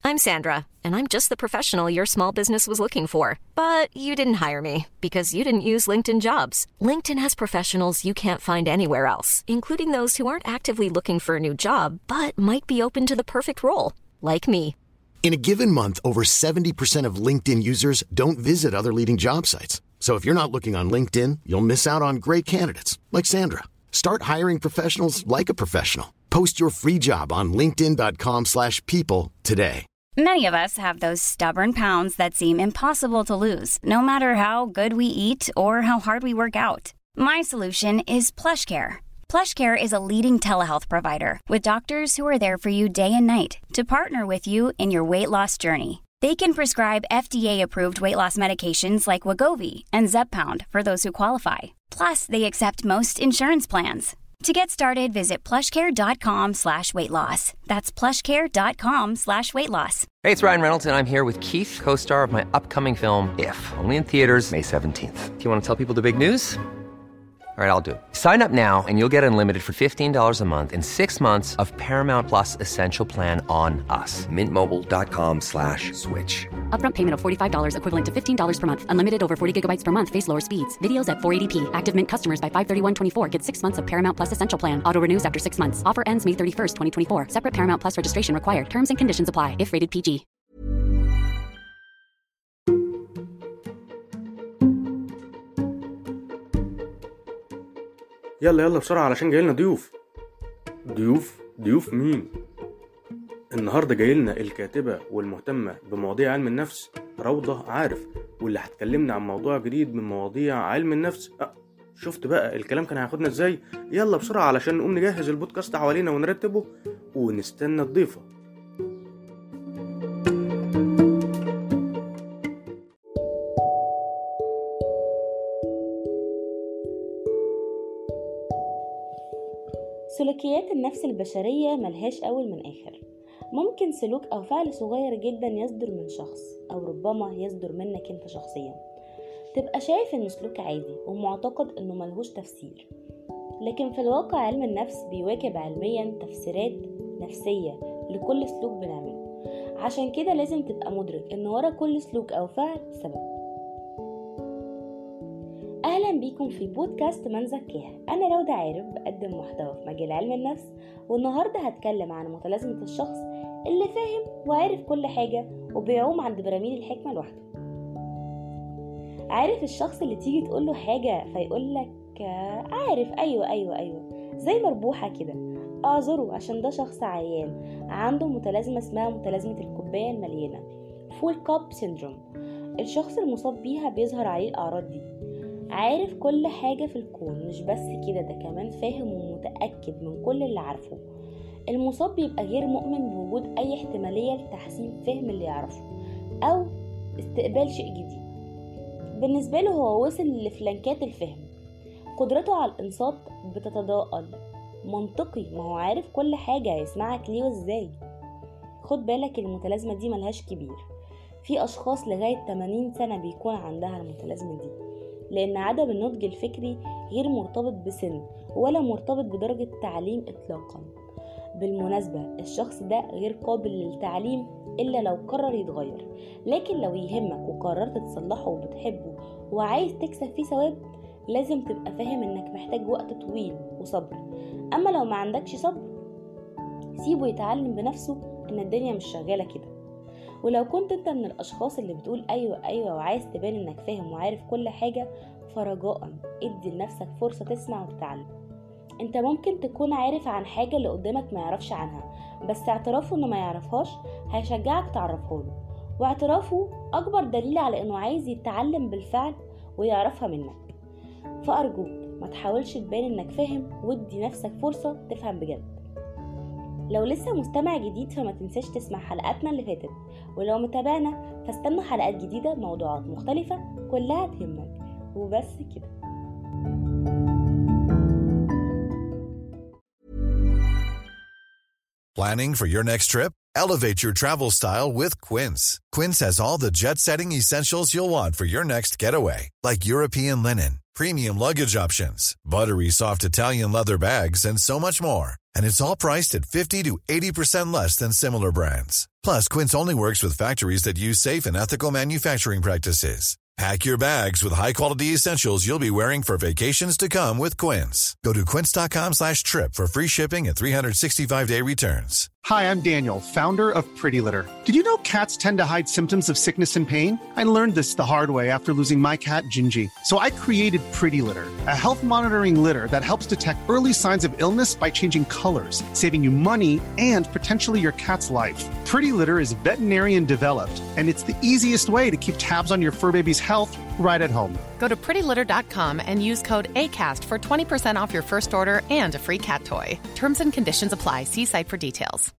I'm Sandra, and I'm just the professional your small business was looking for. But you didn't hire me because you didn't use LinkedIn Jobs. LinkedIn has professionals you can't find anywhere else, including those who aren't actively looking for a new job, but might be open to the perfect role, like me. In a given month, over 70% of LinkedIn users don't visit other leading job sites. So if you're not looking on LinkedIn, you'll miss out on great candidates like Sandra. Start hiring professionals like a professional. Post your free job on linkedin.com/people today. Many of us have those stubborn pounds that seem impossible to lose, no matter how good we eat or how hard we work out. My solution is PlushCare. PlushCare is a leading telehealth provider with doctors who are there for you day and night to partner with you in your weight loss journey. They can prescribe FDA-approved weight loss medications like Wegovy and Zepbound for those who qualify. Plus, they accept most insurance plans. To get started, visit plushcare.com/weightloss. That's plushcare.com/weightloss. Hey, it's Ryan Reynolds, and I'm here with Keith, co-star of my upcoming film, If, only in theaters May 17th. Do you want to tell people the big news? All right, I'll do it. Sign up now and you'll get unlimited for $15 a month and 6 months of Paramount Plus Essential Plan on us. MintMobile.com/switch. Upfront payment of $45 equivalent to $15 per month. Unlimited over 40 gigabytes per month. Face lower speeds. Videos at 480p. Active Mint customers by 531.24 get 6 months of Paramount Plus Essential Plan. Auto renews after 6 months. Offer ends May 31st, 2024. Separate Paramount Plus registration required. Terms and conditions apply if rated PG. يلا بسرعة علشان جايلنا ضيوف. ضيوف مين؟ النهاردة جايلنا الكاتبة والمهتمة بمواضيع علم النفس روضة عارف، واللي هتكلمنا عن موضوع جديد من مواضيع علم النفس. شفت بقى الكلام كان هياخدنا ازاي؟ يلا بسرعة علشان نقوم نجهز البودكاست حوالينا ونرتبه ونستنى الضيفة. سلوكيات النفس البشرية ملهاش أول من آخر. ممكن سلوك أو فعل صغير جدا يصدر من شخص، أو ربما يصدر منك أنت شخصيا، تبقى شايف إنه سلوك عادي ومعتقد إنه ملهوش تفسير، لكن في الواقع علم النفس بيواكب علميا تفسيرات نفسية لكل سلوك بنعمله. عشان كده لازم تبقى مدرك إن ورا كل سلوك أو فعل سبب. أهلا بيكم في بودكاست من زكاها. أنا روضة عارف، بقدم محتوى في مجال علم النفس، والنهاردة هتكلم عن متلازمة الشخص اللي فاهم وعارف كل حاجة وبيعوم عند براميل الحكمة لوحده. عارف الشخص اللي تيجي تقوله حاجة فيقولك عارف أيوة زي مربوحة كده، أعذره عشان ده شخص عيان عنده متلازمة اسمها متلازمة الكوباية المليانة، فول كاب سيندروم. الشخص المصاب بيها بيظهر عليه الأعراض دي. عارف كل حاجة في الكون، مش بس كده، ده كمان فاهم ومتأكد من كل اللي عارفه. المصاب بيبقى غير مؤمن بوجود أي احتمالية لتحسين فهم اللي يعرفه أو استقبال شيء جديد. بالنسبة له هو وصل لفلانكات الفهم. قدرته على الإنصات بتتضاءل. منطقي، ما هو عارف كل حاجة، هيسمعك ليه وازاي. خد بالك المتلازمة دي ملهاش كبير. في أشخاص لغاية 80 سنة بيكون عندها المتلازمة دي، لأن عدم النضج الفكري غير مرتبط بسن ولا مرتبط بدرجة تعليم إطلاقا. بالمناسبة الشخص ده غير قابل للتعليم إلا لو قرر يتغير، لكن لو يهمك وقررت تصلحه وبتحبه وعايز تكسب فيه ثواب، لازم تبقى فاهم إنك محتاج وقت طويل وصبر. أما لو ما عندكش صبر، سيبه يتعلم بنفسه إن الدنيا مش شغالة كده. ولو كنت انت من الاشخاص اللي بتقول ايوه وعايز تبان انك فاهم وعارف كل حاجة، فرجاء ادي لنفسك فرصة تسمع وتتعلم. انت ممكن تكون عارف عن حاجة اللي قدامك ما يعرفش عنها، بس اعترافه انه ما يعرفهاش هيشجعك تعرفها له، واعترافه اكبر دليل على انه عايز يتعلم بالفعل ويعرفها منك. فارجوك ما تحاولش تبان انك فاهم، وادي نفسك فرصة تفهم بجد. لو لسه مستمع جديد فما تنساش تسمع حلقاتنا اللي فاتت، ولو متابعنا فاستنوا حلقات جديدة بموضوعات مختلفة كلها تهمك. وبس كده. Planning for your next trip? Elevate your travel style with Quince. Quince has all the jet-setting essentials you'll want for your next getaway, like European linen, premium luggage options, buttery soft Italian leather bags, and so much more. And it's all priced at 50 to 80% less than similar brands. Plus, Quince only works with factories that use safe and ethical manufacturing practices. Pack your bags with high-quality essentials you'll be wearing for vacations to come with Quince. Go to quince.com/trip for free shipping and 365-day returns. Hi, I'm Daniel, founder of Pretty Litter. Did you know cats tend to hide symptoms of sickness and pain? I learned this the hard way after losing my cat, Gingy. So I created Pretty Litter, a health monitoring litter that helps detect early signs of illness by changing colors, saving you money and potentially your cat's life. Pretty Litter is veterinarian developed, and it's the easiest way to keep tabs on your fur baby's health right at home. Go to prettylitter.com and use code ACAST for 20% off your first order and a free cat toy. Terms and conditions apply. See site for details.